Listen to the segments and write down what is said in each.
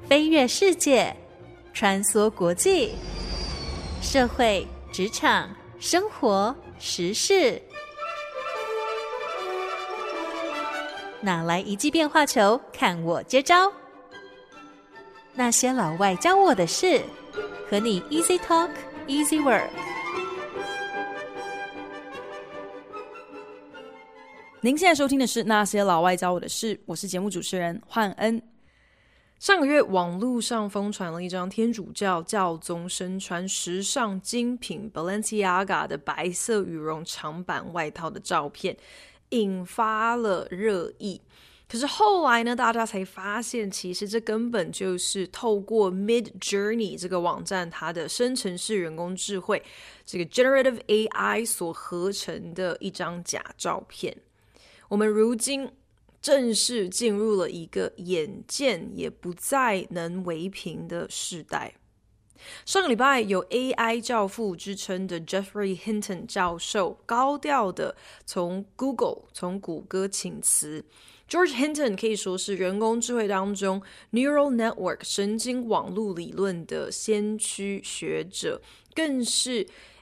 飛躍世界，穿梭國際，社會、職場、生活、時事，哪來一記變化球？看我接招！那些老外教我的事，和你 Easy Talk Easy Work。 您現在收聽的是《那些老外教我的事》，我是節目主持人煥恩。上個月，網絡上瘋傳了一張天主教教宗身穿時尚精品 Balenciaga 的白色羽絨長版外套的照片，引發了熱議。可是後來呢，大家才發現，其實這根本就是透過 Midjourney 這個網站它的生成式人工智慧，這個 Generative AI 所合成的一張假照片。我們如今正式進入了一個眼見也不再能為憑的時代。上個禮拜，有 AI 教父之稱的 Geoffrey Hinton 教授高調的從谷歌請辭。George Hinton 可以說是人工智慧當中 Neural Network 神經網絡理論的先驅學者，更是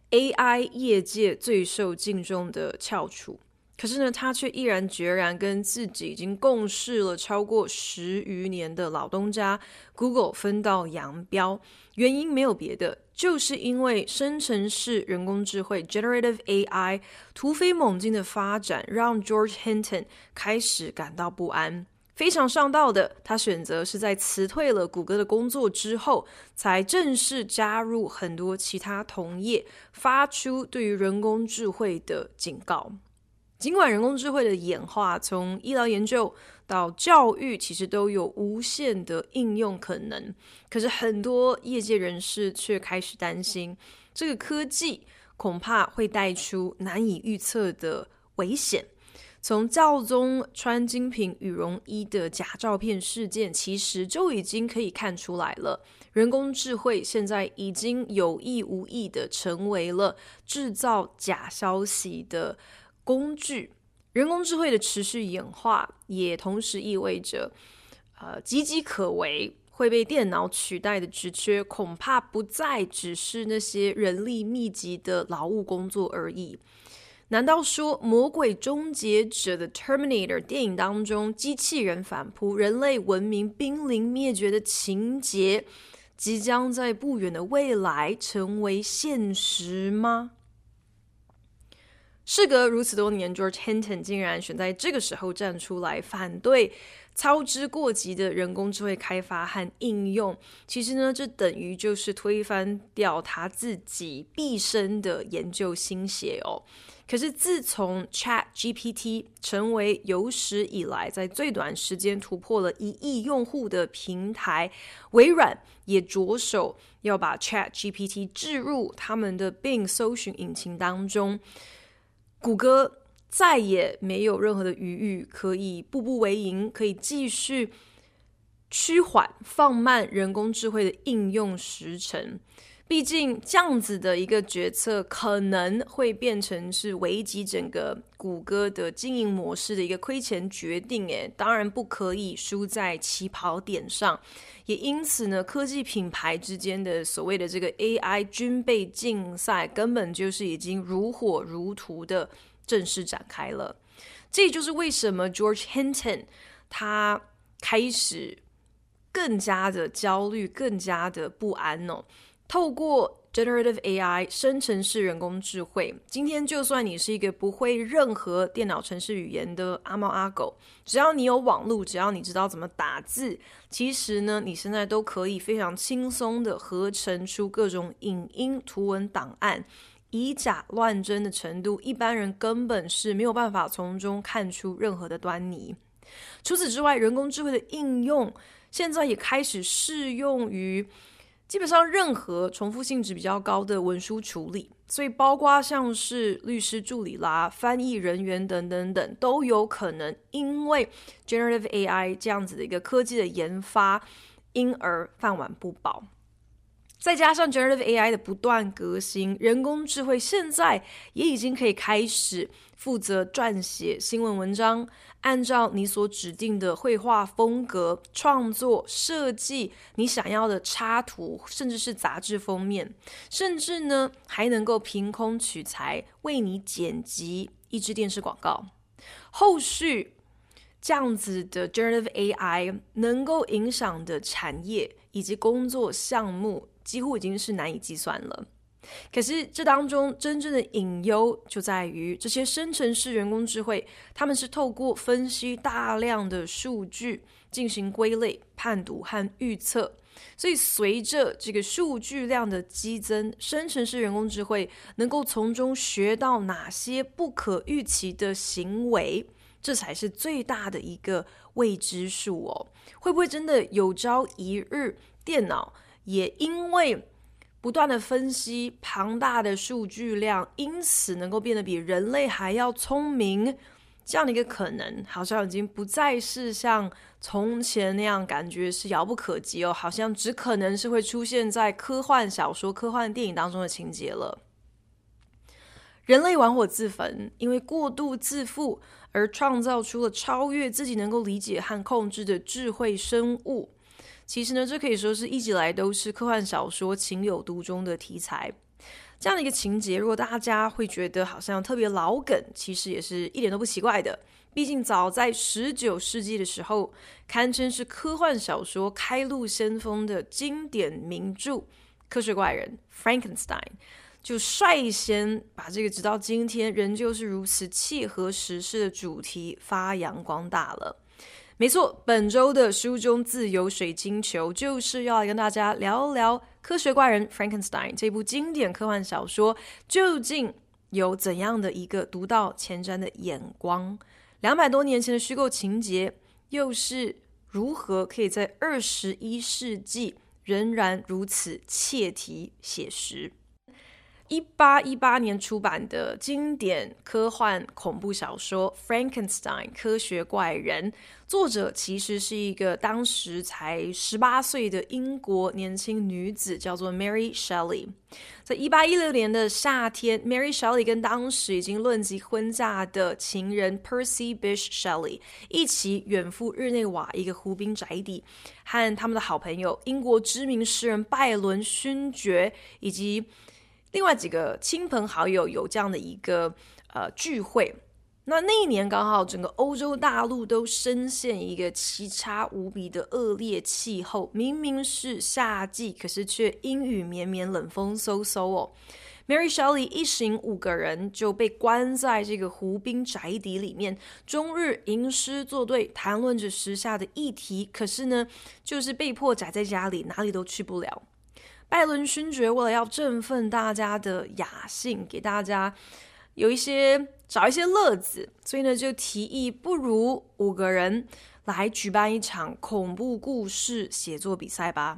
AI 業界最受敬重的翹楚。可是呢，他卻毅然決然跟自己已經共事了超過10餘年的老東家 Google 分道揚鑣。原因沒有別的，就是因為生成式人工智慧 Generative AI 突飛猛進的發展，讓 George Hinton 開始感到不安。非常上道的，他選擇是在辭退了谷歌的工作之後，才正式加入很多其他同業，發出對於人工智慧的警告。儘管人工智慧的演化從醫療研究到教育其實都有無限的應用可能，可是很多業界人士卻開始擔心，這個科技恐怕會帶出難以預測的危險。從教宗穿精品羽絨衣的假照片事件，其實就已經可以看出來了，人工智慧現在已經有意無意的成為了製造假消息的工具。人工智慧的持續演化，也同時意味着岌岌可危會被電腦取代的職缺，恐怕不再只是那些人力密集的勞務工作而已。難道說《魔鬼終結者》的 Terminator 電影當中，機器人反撲，人類文明瀕臨滅絕的情節，即將在不遠的未來成為現實嗎？事隔如此多年， George Hinton 竟然選在這個時候站出來反對操之過急的人工智慧開發和應用。其實呢，這等於就是推翻掉他自己畢生的研究心血哦。可是自從 ChatGPT 成為有史以來在最短時間突破了1億用戶的平台，微軟也着手要把 ChatGPT 置入他們的 Bing 搜尋引擎當中。谷歌再也沒有任何的餘裕可以步步為營，可以繼續趨緩放慢人工智慧的應用時程。畢竟這樣子的一個決策可能會變成是危及整個谷歌的經營模式的一個虧錢決定，當然不可以輸在起跑點上。也因此呢，科技品牌之間的所謂的這個 AI 軍備競賽，根本就是已經如火如荼的正式展開了。這也就是為什麼 George Hinton 他開始更加的焦慮，更加的不安哦。透過 Generative AI 生成式人工智慧，今天就算你是一個不會任何電腦程式語言的阿貓阿狗，只要你有網絡，只要你知道怎麼打字，其實呢，你現在都可以非常輕鬆的合成出各種影音、圖文檔案，以假亂真的程度，一般人根本是沒有辦法從中看出任何的端倪。除此之外，人工智慧的應用現在也開始適用於基本上任何重複性質比較高的文書處理，所以包括像是律師助理啦、翻譯人員等等等，都有可能因為 Generative AI 這樣子的一個科技的研發，因而飯碗不保。 再加上 Generative AI 的不斷革新，人工智慧現在也已經可以開始負責撰寫新聞文章，按照你所指定的繪畫風格創作設計你想要的插圖，甚至是雜誌封面，甚至呢還能夠憑空取材為你剪輯一支電視廣告。後續這樣子的 Generative AI 能夠影響的產業以及工作項目幾乎已經是難以計算了。可是這當中真正的隱憂就在於，這些生成式人工智慧，他們是透過分析大量的數據進行歸類、判讀和預測。所以隨着這個數據量的激增，生成式人工智慧能夠從中學到哪些不可預期的行為，這才是最大的一個未知數哦。會不會真的有朝一日，電腦也因為不斷的分析龐大的數據量，因此能夠變得比人類還要聰明？這樣的一個可能，好像已經不再是像從前那樣感覺是遙不可及哦，好像只可能是會出現在科幻小說、科幻電影當中的情節了。人類玩火自焚，因為過度自負而創造出了超越自己能夠理解和控制的智慧生物。其實呢，這可以說是一直以來都是科幻小說情有獨鍾的題材。這樣的一個情節，如果大家會覺得好像特別老梗，其實也是一點都不奇怪的。畢竟早在19世紀的時候，堪稱是科幻小說開路先鋒的經典名著《科學怪人》Frankenstein， 就率先把這個直到今天仍舊是如此契合時事的主題發揚光大了。沒錯，本周的書中自有水晶球就是要來跟大家聊聊《科學怪人 Frankenstein》這部經典科幻小說究竟有怎樣的一個獨到前瞻的眼光，200多年前的虛構情節又是如何可以在21世紀仍然如此切題寫實。1818年出版的經典科幻恐怖小說《Frankenstein》科學怪人，作者其實是一個當時才18歲的英國年輕女子，叫做 Mary Shelley。在1816年的夏天， Mary Shelley 跟當時已經論及婚嫁的情人 Percy Bysshe Shelley 一起遠赴日內瓦一個湖濱宅邸，和他們的好朋友英國知名詩人拜倫勳爵以及另外幾個親朋好友有這樣的一個聚會。那一年剛好整個歐洲大陸都深陷一個奇差無比的惡劣氣候，明明是夏季，可是卻陰雨綿綿，冷風嗖嗖哦。Mary Shelley 一行5個人就被關在這個湖濱宅邸裡面，終日吟詩作對，談論着時下的議題，可是呢，就是被迫宅在家裡，哪裡都去不了。拜倫勳爵為了要振奮大家的雅興，給大家找一些樂子，所以呢就提議，不如5個人來舉辦一場恐怖故事寫作比賽吧。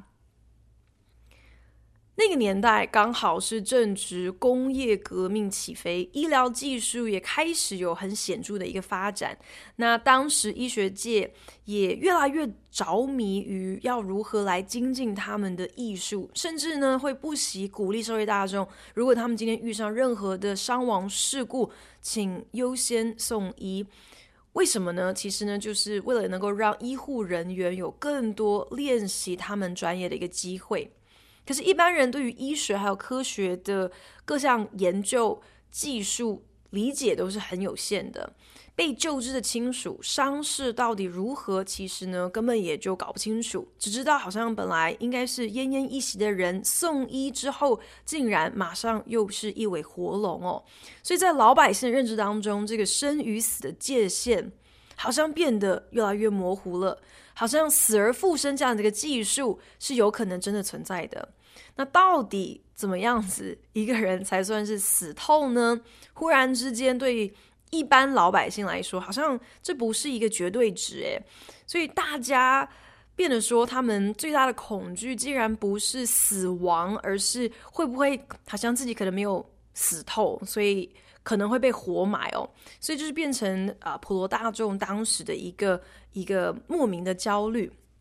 那個年代剛好是正值工業革命起飛，醫療技術也開始有很顯著的一個發展。那當時醫學界也越來越着迷於要如何來精進他們的藝術，甚至呢會不惜鼓勵社會大眾，如果他們今天遇上任何的傷亡事故，請優先送醫。為什麼呢？其實呢，就是為了能夠讓醫護人員有更多練習他們專業的一個機會。可是，一般人對於醫學還有科學的各項研究技術理解都是很有限的。被救治的親屬傷勢到底如何，其實呢根本也就搞不清楚，只知道好像本來應該是奄奄一息的人，送醫之後竟然馬上又是一尾活龍哦。所以在老百姓的認知當中，這個生與死的界限好像變得越來越模糊了，好像死而復生這樣的一個技術是有可能真的存在的。那到底怎麼樣子一個人才算是死透呢？忽然之間，對一般老百姓來說，好像這不是一個絕對值誒。所以大家變得說，他們最大的恐懼竟然不是死亡，而是會不會好像自己可能沒有死透，所以可能會被活埋哦。所以就是變成普羅大眾當時的一個莫名的焦慮。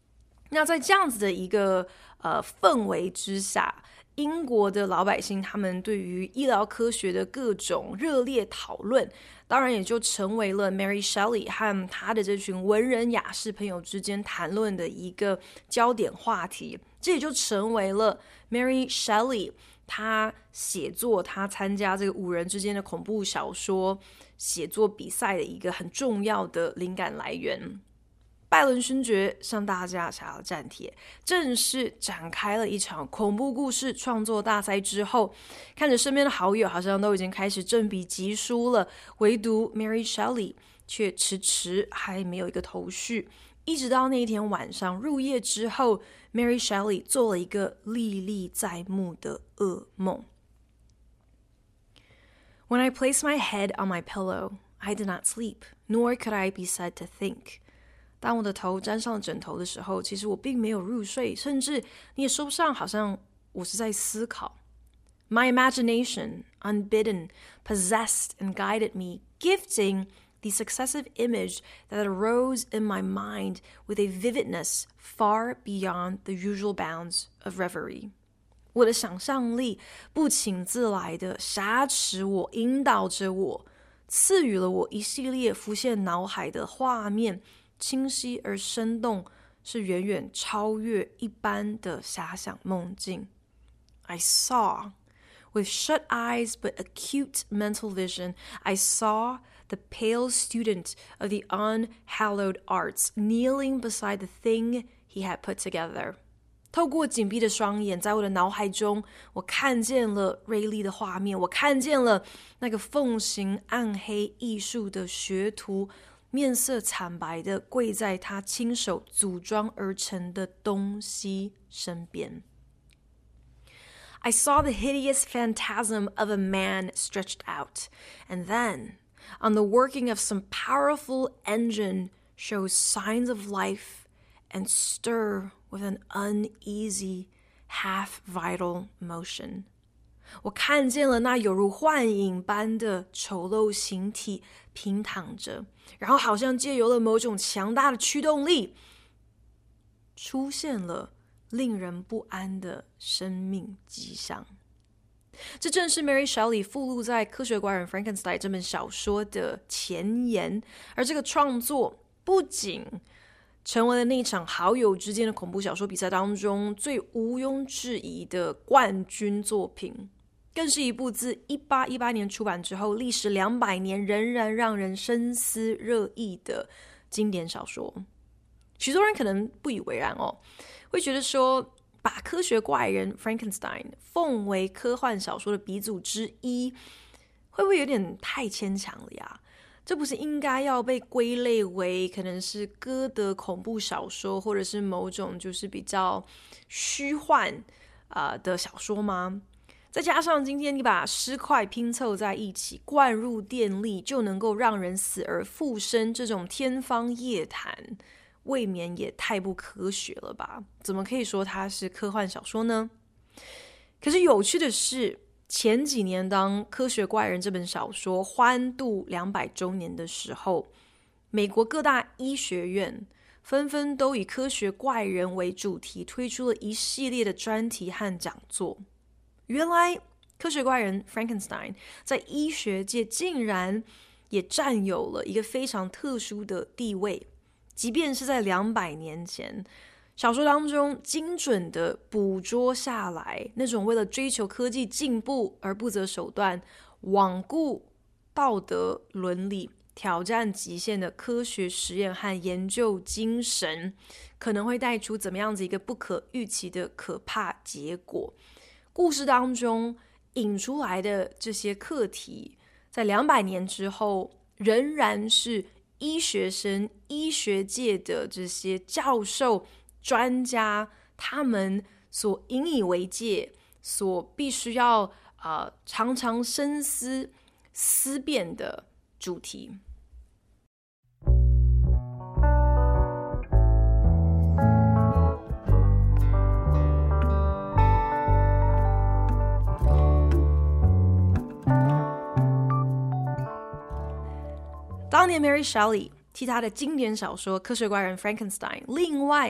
那在這樣子的一個氛圍之下，英國的老百姓他們對於醫療科學的各種熱烈討論，當然也就成為了 Mary Shelley 和她的這群文人雅士朋友之間談論的一個焦點話題。這也就成為了 Mary Shelley 她寫作、她參加這個5人之間的恐怖小說寫作比賽的一個很重要的靈感來源。拜倫勳爵向大家下了戰帖，正式展開了一場恐怖故事創作大賽之後，看着身邊的好友好像都已經開始振筆疾書了，唯獨 Mary Shelley 卻遲遲還沒有一個頭緒。一直到那一天晚上入夜之後， Mary Shelley 做了一個歷歷在目的噩夢。 When I placed my head on my pillow, I did not sleep, nor could I be said to think.當我的頭沾上了枕頭的時候，其實我並沒有入睡，甚至你也說不上好像我是在思考。My imagination, unbidden, possessed and guided me, gifting the successive image that arose in my mind with a vividness far beyond the usual bounds of reverie. 我的想象力不請自來的挾持我，引導着我，賜予了我一系列浮現腦海的畫面，清晰而生動，是遠遠超越一般的遐想夢境。I saw, with shut eyes but acute mental vision, I saw the pale student of the unhallowed arts kneeling beside the thing he had put together. 透過緊閉的雙眼，在我的腦海中，我看見了銳利的畫面，我看見了那個奉行暗黑藝術的學徒，面色慘白的跪在他親手組裝而成的東西身邊。I saw the hideous phantasm of a man stretched out, and then, on the working of some powerful engine, shows signs of life and stir with an uneasy, half-vital motion. 我看見了那有如幻影般的醜陋形體平躺着，然後好像借由了某種強大的驅動力，出現了令人不安的生命跡象。這正是 Mary Shelley 附錄在《科學怪人 Frankenstein》這本小說的前言，而這個創作不僅成為了那場好友之間的恐怖小說比賽當中最毋庸置疑的冠軍作品，更是一部自1818年出版之後歷時200年仍然讓人深思熱議的經典小說。許多人可能不以為然哦，會覺得說把科學怪人 Frankenstein 奉為科幻小說的鼻祖之一，會不會有點太牽強了呀？這不是應該要被歸類為可能是歌德恐怖小說，或者是某種就是比較虛幻的小說嗎？再加上今天你把屍塊拼湊在一起，灌入電力就能夠讓人死而復生，這種天方夜譚，未免也太不科學了吧？怎麼可以說它是科幻小說呢？可是有趣的是，前幾年當《科學怪人》這本小說歡度200週年的時候，美國各大醫學院紛紛都以科學怪人為主題，推出了一系列的專題和講座。原來科學怪人 Frankenstein 在醫學界竟然也佔有了一個非常特殊的地位，即便是在200年前，小說當中精準地捕捉下來那種為了追求科技進步而不擇手段、罔顧道德倫理、挑戰極限的科學實驗和研究精神，可能會帶出怎麼樣子一個不可預期的可怕結果。故事當中引出來的這些課題，在200年之後，仍然是醫學生、醫學界的這些教授、專家，他們所引以為戒、所必須要常常深思思辨的主題。當年 Mary Shelley 替他的經典小說《科學怪人 Frankenstein》另外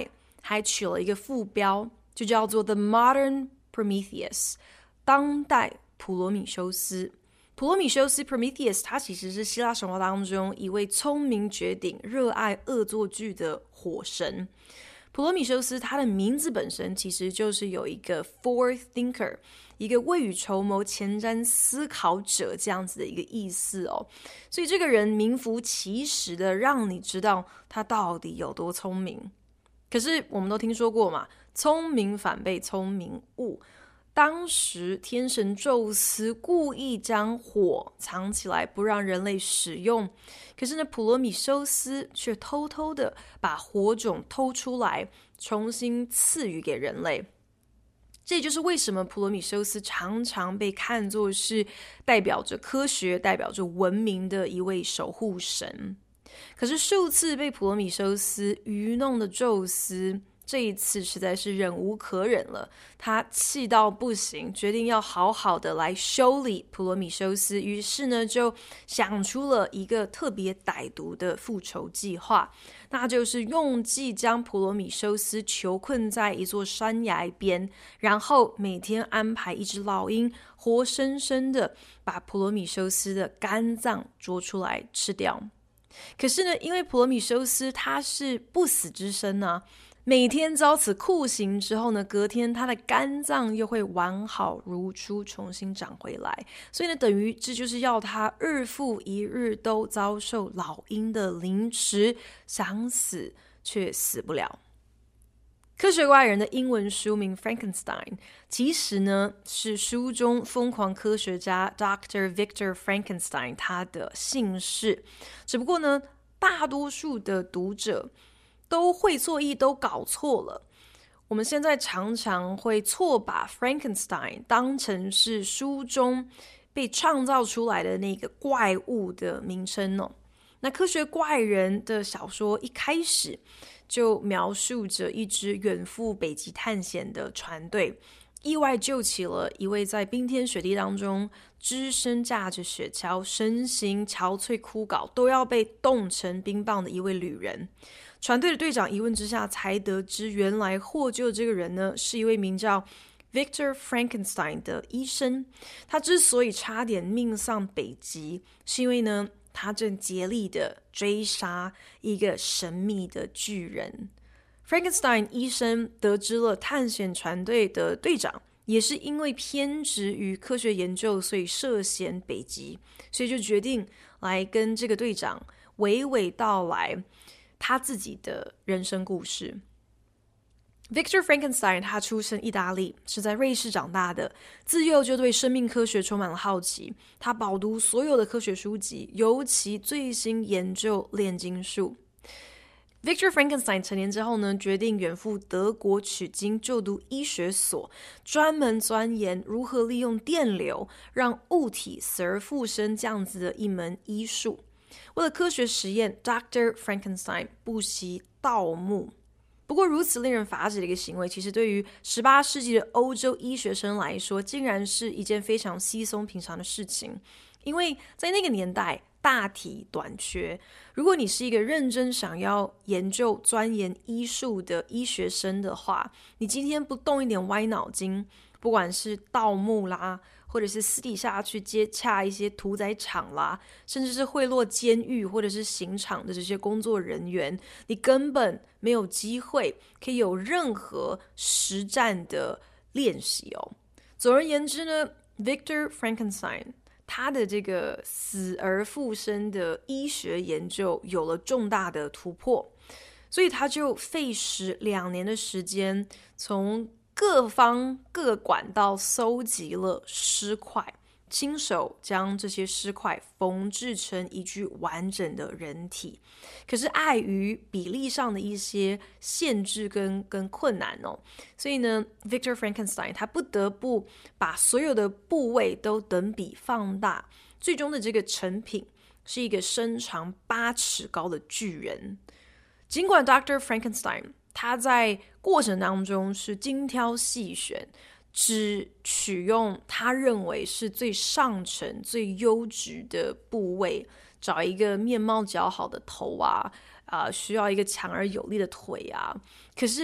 還取了一個副標，就叫做 The Modern Prometheus， 當代普羅米修斯。普羅米修斯 Prometheus 他其實是希臘神話當中一位聰明絕頂、熱愛惡作劇的火神。普羅米修斯他的名字本身其實就是有一個 forethinker， 一個未雨綢繆、前瞻思考者這樣子的一個意思哦。所以這個人名副其實的讓你知道他到底有多聰明。可是我們都聽說過嘛，聰明反被聰明誤。當時天神宙斯故意將火藏起來，不讓人類使用。可是呢，普羅米修斯卻偷偷的把火種偷出來，重新賜予給人類。這也就是為什麼普羅米修斯常常被看作是代表着科學、代表着文明的一位守護神。可是數次被普羅米修斯愚弄的宙斯，這一次實在是忍無可忍了，他氣到不行，決定要好好的來修理普羅米修斯。於是呢，就想出了一個特別歹毒的復仇計劃，那就是用計將普羅米修斯囚困在一座山崖邊，然後每天安排一隻老鷹活生生的把普羅米修斯的肝臟捉出來吃掉。可是呢，因為普羅米修斯他是不死之身啊，每天遭此酷刑之後呢，隔天他的肝臟又會完好如初，重新長回來。所以呢，等於這就是要他日復一日都遭受老鷹的凌遲，想死卻死不了。科學怪人的英文書名 Frankenstein 其實呢是書中瘋狂科學家 Dr. Victor Frankenstein 他的姓氏，只不過呢大多數的讀者都會錯意，都搞錯了。我們現在常常會錯把 Frankenstein 當成是書中被創造出來的那個怪物的名稱哦。那科學怪人的小說一開始就描述着一支遠赴北極探險的船隊，意外救起了一位在冰天雪地當中只身駕着雪橇，身形憔悴枯槁，都要被凍成冰棒的一位旅人。船隊的隊長一問之下才得知，原來獲救這個人呢是一位名叫 Victor Frankenstein 的醫生。他之所以差點命喪北極，是因為呢他正竭力的追殺一個神秘的巨人。Frankenstein 醫生得知了探險船隊的隊長也是因為偏執於科學研究，所以涉嫌北極，所以就決定來跟這個隊長娓娓道來他自己的人生故事。Victor Frankenstein 他出生意大利，是在瑞士長大的，自幼就對生命科學充滿了好奇。他飽讀所有的科學書籍，尤其最新研究煉金術。Victor Frankenstein 成年之後呢，決定遠赴德國取經，就讀醫學所，專門鑽研如何利用電流讓物體死而復生這樣子的一門醫術。為了科學實驗 ，Dr. Frankenstein 不惜盜墓。不過，如此令人髮指的一個行為，其實對於18世紀的歐洲醫學生來說，竟然是一件非常稀鬆平常的事情。因為在那個年代，大體短缺。如果你是一個認真想要研究、鑽研醫術的醫學生的話，你今天不動一點歪腦筋，不管是盜墓啦，或者是私底下去接洽一些屠宰場啦，甚至是賄賂監獄或者是刑場的這些工作人員，你根本沒有機會可以有任何實戰的練習哦。總而言之呢， Victor Frankenstein 他的這個死而復生的醫學研究有了重大的突破，所以他就費時2年的時間，從各方各管道搜集了屍塊，親手將這些屍塊縫製成一具完整的人體。可是礙於比例上的一些限制跟困難哦，所以呢 Victor Frankenstein 他不得不把所有的部位都等比放大，最終的這個成品是一個身長8尺高的巨人。儘管 Dr. Frankenstein 他在過程當中是精挑細選，只取用他認為是最上乘、最優質的部位，找一個面貌姣好的頭啊，需要一個強而有力的腿啊。可是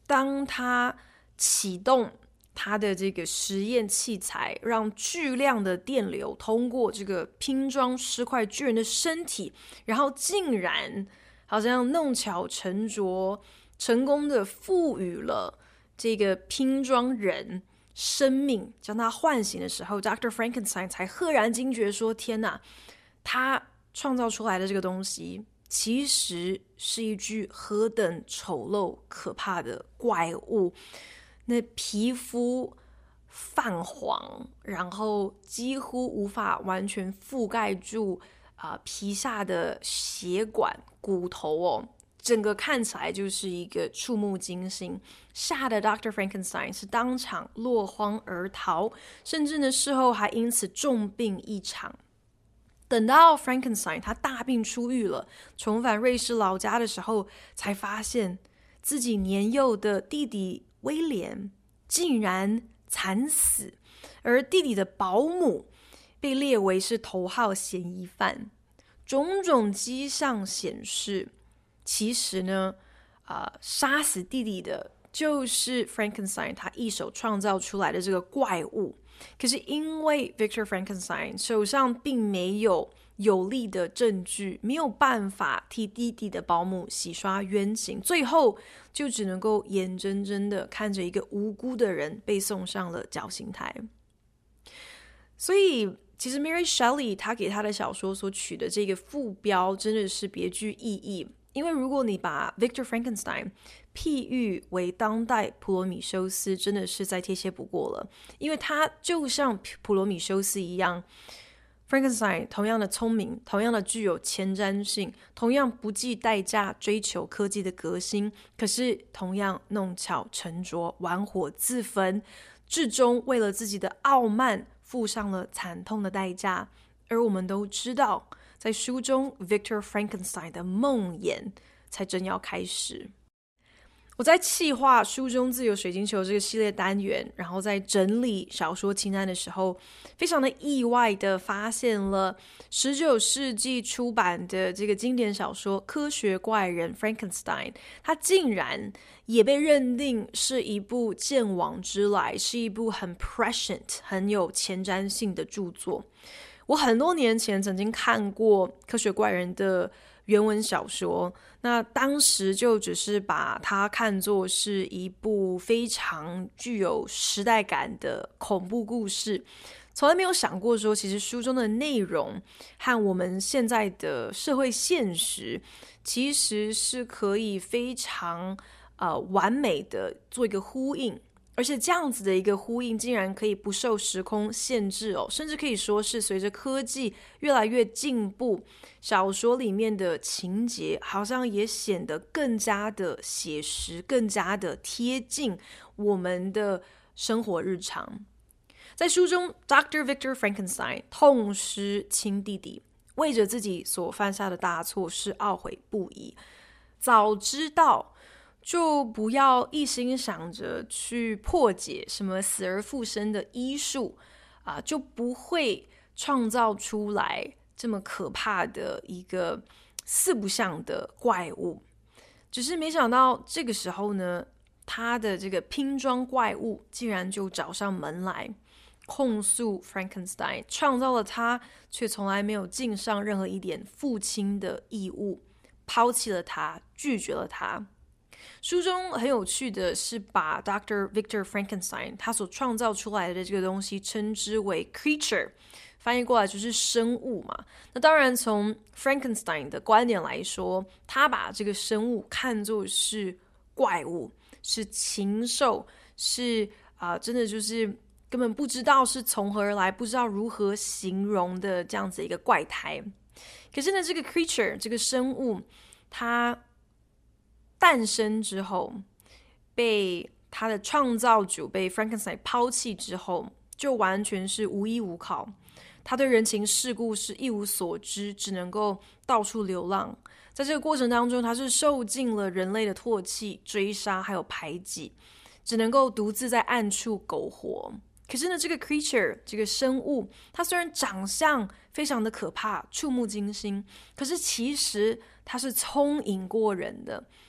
當他啟動他的這個實驗器材，讓巨量的電流通過這個拼裝屍塊巨人的身體，然後竟然好像弄巧成拙，成功的賦予了這個拼裝人生命，將他喚醒的時候， Dr. Frankenstein 才赫然驚覺說，天哪，他創造出來的這個東西其實是一具何等醜陋可怕的怪物。那皮膚泛黃，然後幾乎無法完全覆蓋住皮下的血管骨頭哦，整個看起來就是一個觸目驚心，嚇得 Dr. Frankenstein 是當場落荒而逃，甚至呢事後還因此重病一場。等到 Frankenstein 他大病初癒了，重返瑞士老家的時候，才發現自己年幼的弟弟威廉竟然慘死，而弟弟的保姆被列為是頭號嫌疑犯。種種跡象顯示，其實呢，殺死弟弟的就是 Frankenstein 他一手創造出來的這個怪物。可是因為 Victor Frankenstein 手上並沒有有力的證據，沒有辦法替弟弟的保姆洗刷冤情，最後就只能夠眼睜睜的看着一個無辜的人被送上了絞刑台。所以其實 Mary Shelley 她給她的小說所取的這個副標真的是別具意義，因為如果你把 Victor Frankenstein 譬喻為當代普羅米修斯，真的是再貼切不過了。因為他就像普羅米修斯一樣， Frankenstein 同樣的聰明，同樣的具有前瞻性，同樣不計代價追求科技的革新，可是同樣弄巧成拙，玩火自焚，至終為了自己的傲慢付上了慘痛的代價。而我們都知道，在書中 Victor Frankenstein 的夢魘才正要開始。我在企劃書中自由水晶球這個系列單元，然後在整理小說清單的時候，非常的意外的發現了19世紀出版的這個經典小說《科學怪人 Frankenstein》，它竟然也被認定是一部鑑往知來，是一部很 prescient 很有前瞻性的著作。我很多年前曾經看過《科學怪人》的原文小說，那當時就只是把它看作是一部非常具有時代感的恐怖故事，從來沒有想過說其實書中的內容和我們現在的社會現實其實是可以非常完美的做一個呼應。而且這樣子的一個呼應竟然可以不受時空限制哦，甚至可以說是隨着科技越來越進步，小說裡面的情節好像也顯得更加的寫實，更加的貼近我們的生活日常。在書中 Dr. Victor Frankenstein 痛失親弟弟，為着自己所犯下的大錯事懊悔不已，早知道就不要一心想着去破解什麼死而復生的醫術就不會創造出來這麼可怕的一個四不像的怪物。只是沒想到這個時候呢，他的這個拼裝怪物竟然就找上門來，控訴 Frankenstein 創造了他，卻從來沒有盡上任何一點父親的義務，拋棄了他，拒絕了他。書中很有趣的是把 Dr. Victor Frankenstein 他所創造出來的這個東西稱之為 creature， 翻譯過來就是生物嘛。那當然從 Frankenstein 的觀點來說，他把這個生物看作是怪物，是禽獸，是真的就是根本不知道是從何而來，不知道如何形容的這樣子一個怪胎。可是呢，這個 creature 這個生物它誕生之後，被他的創造主被 Frankenstein 拋棄之後，就完全是無依無靠。他對人情世故是一無所知，只能夠到處流浪。在這個過程當中，他是受盡了人類的唾棄、追殺還有排擠，只能夠獨自在暗處苟活。可是呢，這個 creature 這個生物，它雖然長相非常的可怕、觸目驚心，可是其實它是聰穎過人的。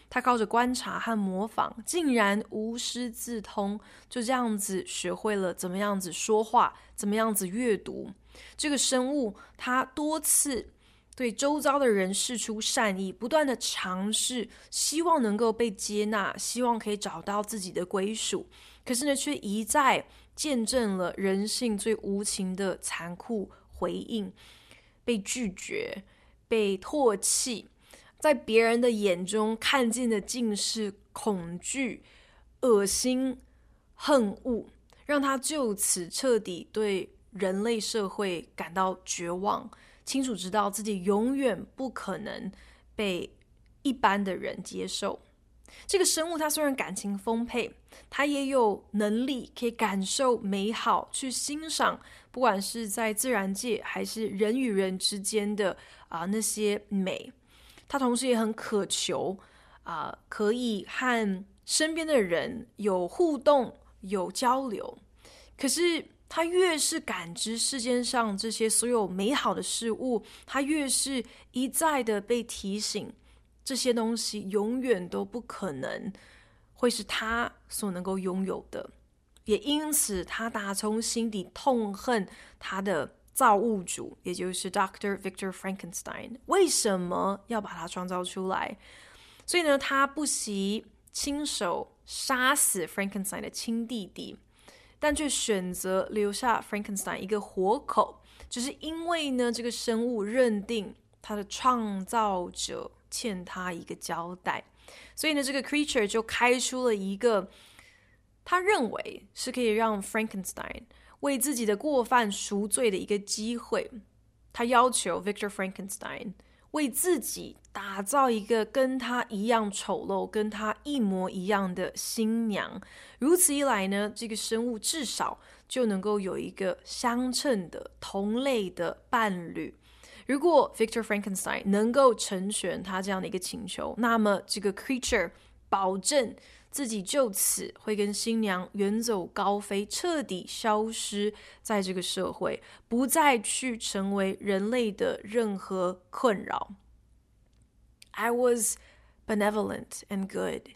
他靠着觀察和模仿，竟然無師自通，就這樣子學會了怎麼樣子說話，怎麼樣子閱讀。這個生物他多次對周遭的人釋出善意，不斷的嘗試，希望能夠被接納，希望可以找到自己的歸屬。可是呢，卻一再見證了人性最無情的殘酷回應，被拒絕，被唾棄，在別人的眼中看見的盡是恐懼、惡心、恨惡，讓他就此徹底對人類社會感到絕望，清楚知道自己永遠不可能被一般的人接受。這個生物它雖然感情豐沛，它也有能力可以感受美好，去欣賞不管是在自然界還是人與人之間的那些美。它同時也很渴求可以和身邊的人有互動、有交流。可是它越是感知世界上這些所有美好的事物，它越是一再的被提醒，這些東西永遠都不可能會是他所能夠擁有的，也因此他打從心底痛恨他的造物主，也就是 Dr. Victor Frankenstein， 為什麼要把他創造出來？所以呢，他不惜親手殺死 Frankenstein 的親弟弟，但卻選擇留下 Frankenstein 一個活口，就是因為呢，這個生物認定他的創造者欠他一個交代，所以呢，這個 creature 就開出了一個他認為是可以讓 Frankenstein 為自己的過犯贖罪的一個機會。他要求 Victor Frankenstein 為自己打造一個跟他一樣醜陋、跟他一模一樣的新娘。如此一來呢，這個生物至少就能夠有一個相稱的、同類的伴侶。如果 Victor Frankenstein 能夠成全他這樣的一個請求，那麼這個 creature 保證自己就此會跟新娘遠走高飛，徹底消失在這個社會，不再去成為人類的任何困擾。I was benevolent and good.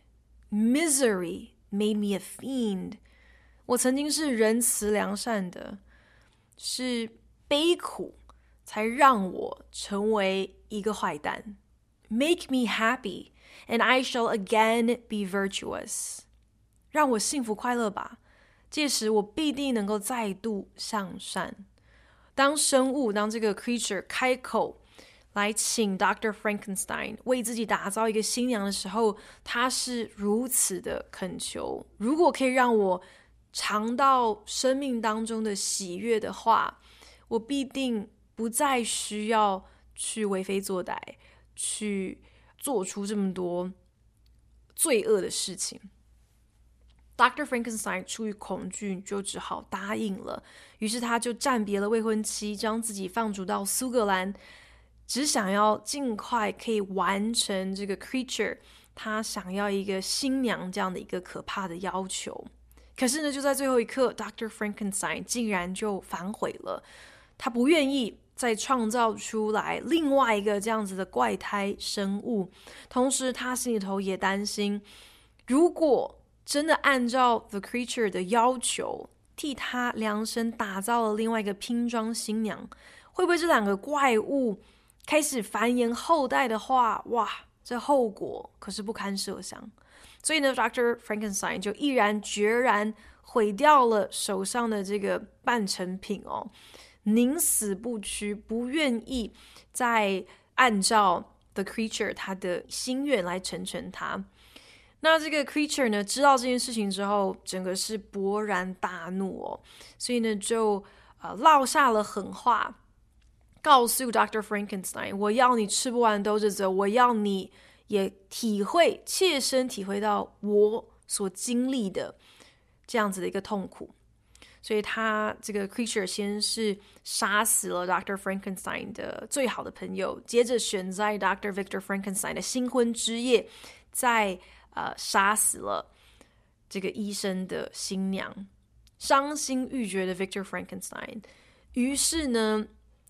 Misery made me a fiend. 我曾經是仁慈良善的，是悲苦才讓我成為一個壞蛋。Make me happy, and I shall again be virtuous. 讓我幸福快樂吧，屆時我必定能夠再度向善。當這個 creature 開口來請 Dr. Frankenstein 為自己打造一個新娘的時候，他是如此的懇求，如果可以讓我嘗到生命當中的喜悅的話，我必定不再需要去為非作歹，去做出這麼多罪惡的事情。Dr. Frankenstein 出於恐懼，就只好答應了。於是他就暫別了未婚妻，將自己放逐到蘇格蘭，只想要盡快可以完成這個 creature 他想要一個新娘這樣的一個可怕的要求。可是呢，就在最後一刻， Dr. Frankenstein 竟然就反悔了。他不願意再創造出來另外一個這樣子的怪胎生物，同時他心裡頭也擔心，如果真的按照 The Creature 的要求替他量身打造了另外一個拼裝新娘，會不會這兩個怪物開始繁衍後代的話，哇，這後果可是不堪設想。所以呢， Dr. Frankenstein 就毅然決然毀掉了手上的這個半成品哦，寧死不屈，不願意再按照 The Creature 他的心願來成全他。那這個 Creature 呢，知道這件事情之後，整個是勃然大怒哦，所以呢就落下了狠話，告訴 Dr. Frankenstein， 我要你吃不完兜着走，我要你也切身體會到我所經歷的這樣子的一個痛苦。所以他這個 creature 先是殺死了 Dr. Frankenstein 的最好的朋友，接着選在 Dr. Victor Frankenstein 的新婚之夜，再殺死了這個醫生的新娘。傷心欲絕的 Victor Frankenstein， 於是呢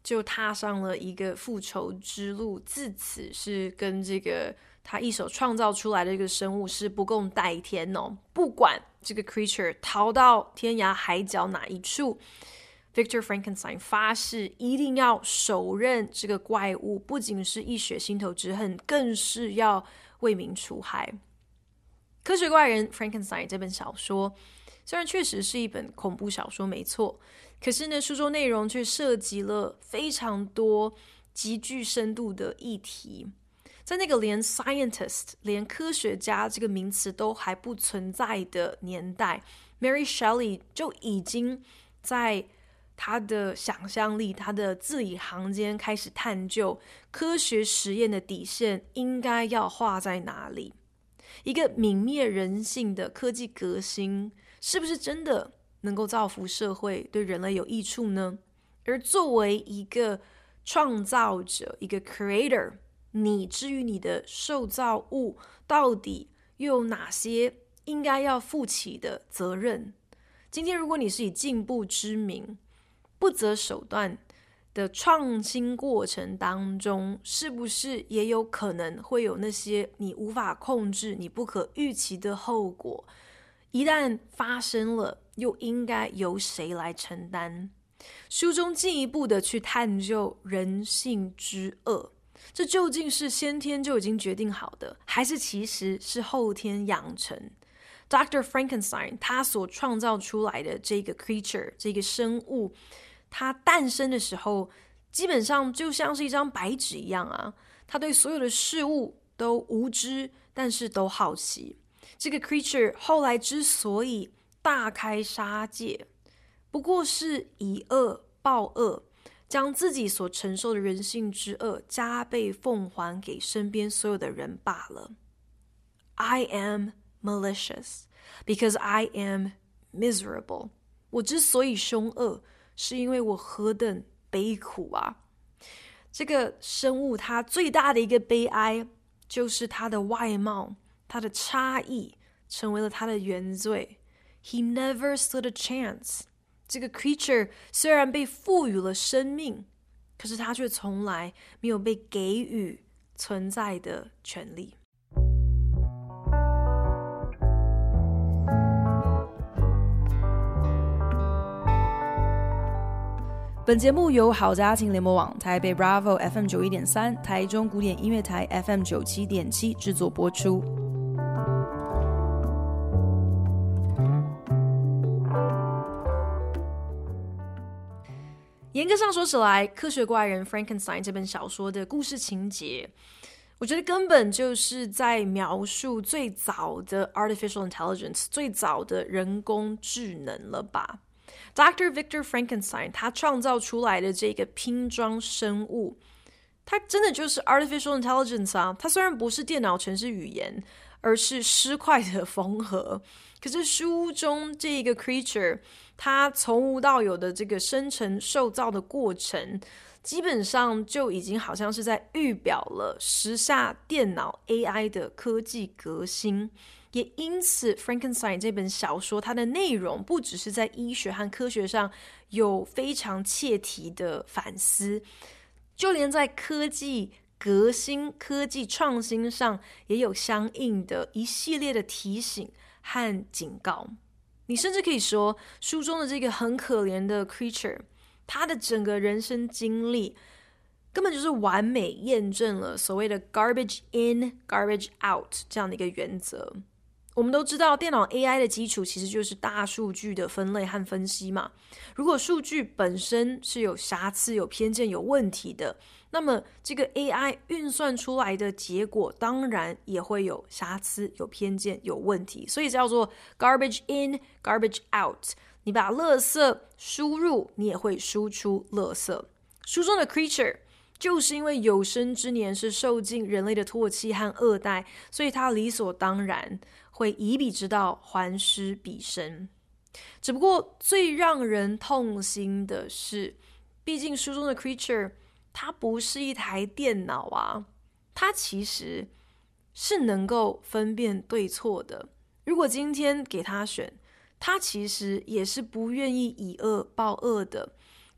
就踏上了一個復仇之路，自此是跟這個他一手創造出來的這個生物是不共戴天哦。不管這個 creature 逃到天涯海角哪一處， Victor Frankenstein 發誓一定要手刃這個怪物，不僅是一雪心頭之恨，更是要為民除害。科學怪人 Frankenstein 這本小說雖然確實是一本恐怖小說沒錯，可是呢，書中內容卻涉及了非常多極具深度的議題。在那個連 scientist 連科學家這個名詞都還不存在的年代， Mary Shelley 就已經在他的想象力，他的字裡行間開始探究科學實驗的底線應該要畫在哪裡。一個泯滅人性的科技革新是不是真的能夠造福社會，對人類有益處呢？而作為一個創造者，一個 creator， 你至於你的受造物到底又有哪些應該要負起的責任？今天如果你是以進步之名不擇手段的創新過程當中，是不是也有可能會有那些你無法控制、你不可預期的後果？一旦發生了，又應該由誰來承擔？書中進一步的去探究人性之惡，這究竟是先天就已經決定好的，還是其實是後天養成？ Dr. Frankenstein 他所創造出來的這個 creature， 這個生物，它誕生的時候基本上就像是一張白紙一樣啊，他對所有的事物都無知，但是都好奇。這個 creature 後來之所以大開殺戒，不過是以惡報惡，將自己所承受的人性之惡加倍奉還給身邊所有的人罷了。 I am malicious because I am miserable。 我之所以兇惡，是因為我何等悲苦啊！這個生物它最大的一個悲哀，就是它的外貌，它的差異成為了它的原罪。 He never stood a chance。 這個 creature 雖然被賦予了生命，可是它卻從來沒有被給予存在的權利。本節目由好家庭聯播網、台北 Bravo FM 91.3、台中古典音樂台 FM 97.7製作播出。嚴格上說起來，《科學怪人 Frankenstein》這本小說的故事情節，我覺得根本就是在描述最早的 artificial intelligence， 最早的人工智能了吧。Dr. Victor Frankenstein 他創造出來的這個拼裝生物，它真的就是 artificial intelligence 啊。它雖然不是電腦程式語言，而是屍塊的縫合，可是書中這個 creature 它從無到有的這個生成受造的過程，基本上就已經好像是在預表了時下電腦 AI 的科技革新。也因此 Frankenstein 這本小說它的內容不只是在醫學和科學上有非常切題的反思，就連在科技革新、科技創新上也有相應的一系列的提醒和警告。你甚至可以說，書中的這個很可憐的 creature， 他的整個人生經歷根本就是完美驗證了所謂的 garbage in, garbage out 這樣的一個原則。我們都知道，電腦 AI 的基礎其實就是大數據的分類和分析嘛。如果數據本身是有瑕疵、有偏見、有問題的，那麼這個 AI 運算出來的結果當然也會有瑕疵、有偏見、有問題。所以叫做 garbage in, garbage out。你把垃圾輸入，你也會輸出垃圾。書中的 creature 就是因為有生之年是受盡人類的唾棄和惡待，所以他理所當然會以彼之道還施彼身。只不過最讓人痛心的是，畢竟書中的 creature 它不是一台電腦啊，它其實是能夠分辨對錯的。如果今天給他選，他其實也是不願意以惡報惡的。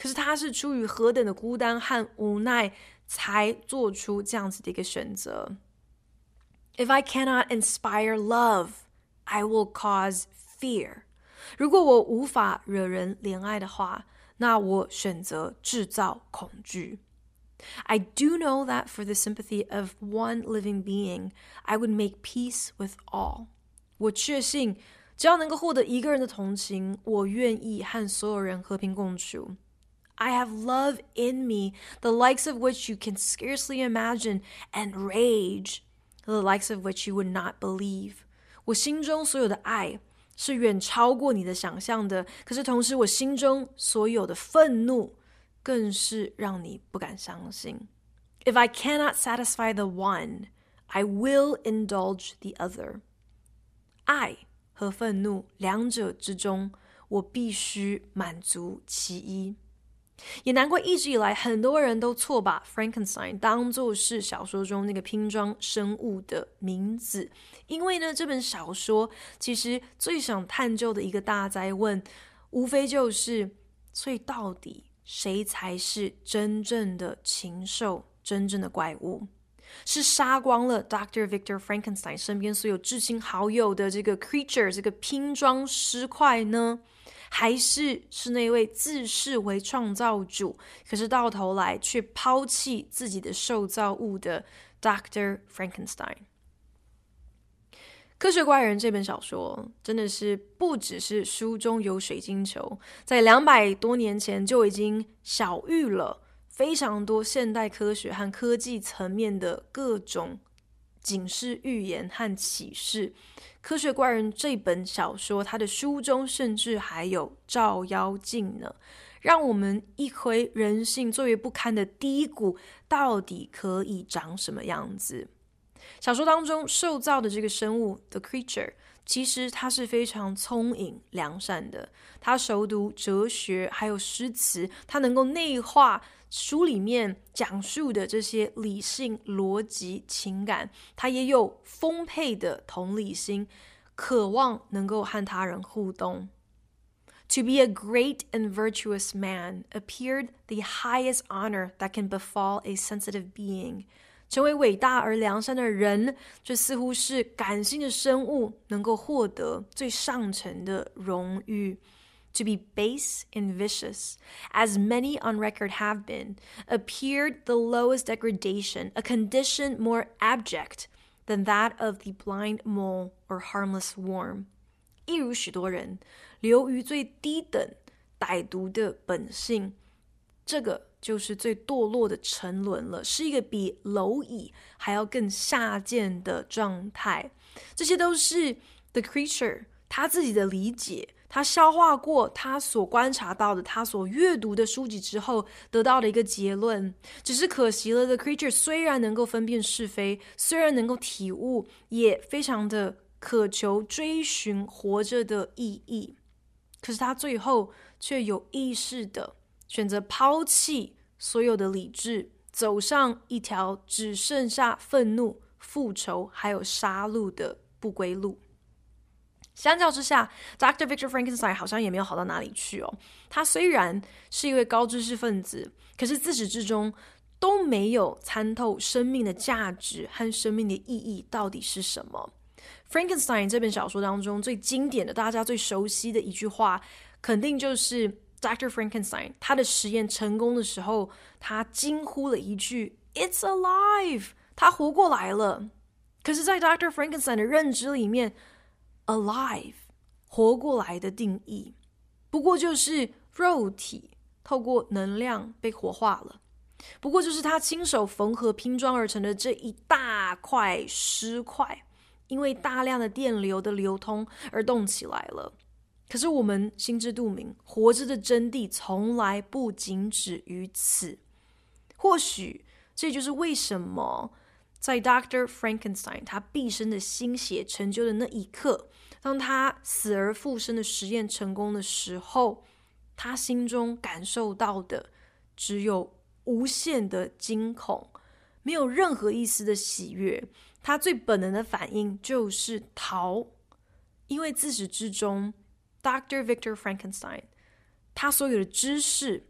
可是他是出於何等的孤單和無奈，才做出這樣子的一個選擇。If I cannot inspire love, I will cause fear. 如果我無法惹人憐愛的話，那我選擇製造恐懼。I do know that for the sympathy of one living being, I would make peace with all. 我確信，只要能夠獲得一個人的同情，我願意和所有人和平共處。I have love in me, the likes of which you can scarcely imagine, and rage, the likes of which you would not believe. 我心中所有的愛是遠超過你的想象的，可是同時我心中所有的憤怒更是讓你不敢相信。If I cannot satisfy the one, I will indulge the other. 愛和憤怒兩者之中，我必須滿足其一。也難怪一直以來很多人都錯把 Frankenstein 當作是小說中那個拼裝生物的名字，因為呢，這本小說其實最想探究的一個大哉問，無非就是所以到底誰才是真正的禽獸，真正的怪物？是殺光了 Dr. Victor Frankenstein 身邊所有至親好友的這個 creature 這個拼裝屍塊呢？還是那位自視為創造主，可是到頭來卻拋棄自己的受造物的 Dr. Frankenstein。科學怪人這本小說真的是不只是書中有水晶球，在200多年前就已經曉喻了非常多現代科學和科技層面的各種警示預言和啟示。科學怪人這本小說，它的書中甚至還有照妖鏡呢，讓我們一窺人性最為不堪的低谷到底可以長什麼樣子。小說當中受造的這個生物 The Creature， 其實它是非常聰穎良善的，它熟讀哲學還有詩詞，它能夠內化書裡面講述的這些理性、邏輯、情感，他也有豐沛的同理心，渴望能夠和他人互動。To be a great and virtuous man appeared the highest honor that can befall a sensitive being. 成為偉大而良善的人，這似乎是感性的生物能夠獲得最上層的榮譽。To be base and vicious, as many on record have been, appeared the lowest degradation, a condition more abject than that of the blind mole or harmless worm. 一如許多人流於最低等、歹毒的本性，這個就是最墮落的沉淪了，是一個比螻蟻還要更下賤的狀態。這些都是 The Creature 他自己的理解。他消化過他所觀察到的，他所閱讀的書籍之後，得到的一個結論。只是可惜了 The Creature 雖然能夠分辨是非，雖然能夠體悟，也非常的渴求追尋活着的意義，可是他最後卻有意識的選擇拋棄所有的理智，走上一條只剩下憤怒、復仇還有殺戮的不歸路。相較之下 Dr. Victor Frankenstein 好像也沒有好到哪裡去哦。他雖然是一位高知識分子，可是自始至終都沒有參透生命的價值和生命的意義到底是什麼。Frankenstein 這本小說當中最經典的、大家最熟悉的一句話，肯定就是 Dr. Frankenstein 他的實驗成功的時候，他驚呼了一句 It's alive， 他活過來了。可是在 Dr. Frankenstein 的認知裡面Alive 活過來的定義不過就是肉體透過能量被活化了，不過就是他親手縫合拼裝而成的這一大塊屍塊，因為大量的電流的流通而動起來了。可是我們心知肚明，活着的真諦從來不僅止於此。或許這就是為什麼在 Dr. Frankenstein 他畢生的心血成就的那一刻，當他死而復生的實驗成功的時候，他心中感受到的只有無限的驚恐，沒有任何一絲的喜悅。他最本能的反應就是逃，因為自始至終 Dr. Victor Frankenstein 他所有的知識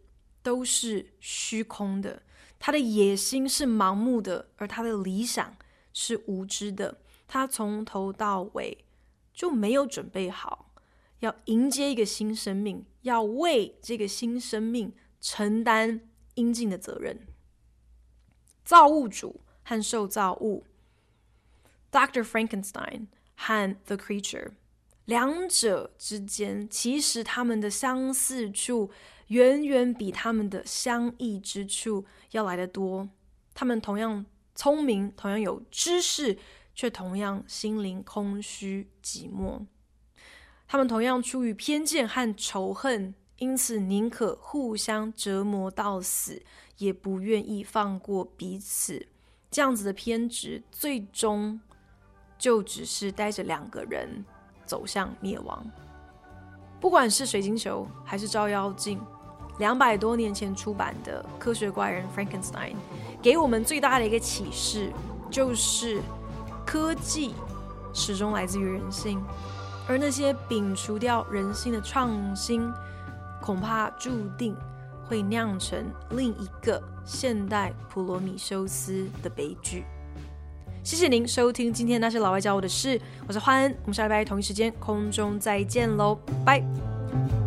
都是虛空的，他的野心是盲目的，而他的理想是無知的。他從頭到尾就沒有準備好要迎接一個新生命，要為這個新生命承擔應盡的責任。造物主和受造物 Dr. Frankenstein 和 The Creature， 兩者之間其實他們的相似處遠遠比他們的相異之處要來得多。他們同樣聰明，同樣有知識，卻同樣心靈空虛寂寞。他們同樣出於偏見和仇恨，因此寧可互相折磨到死，也不願意放過彼此。這樣子的偏執，最終就只是帶着兩個人走向滅亡。不管是水晶球還是照妖鏡，200多年前出版的科學怪人 Frankenstein 給我們最大的一個啟示，就是科技始終來自於人性，而那些摒除掉人性的創新，恐怕注定會釀成另一個現代普羅米修斯的悲劇。謝謝您收聽今天那些老外教我的事，我是歡恩，我們下禮拜同一時間空中再見嘍，拜。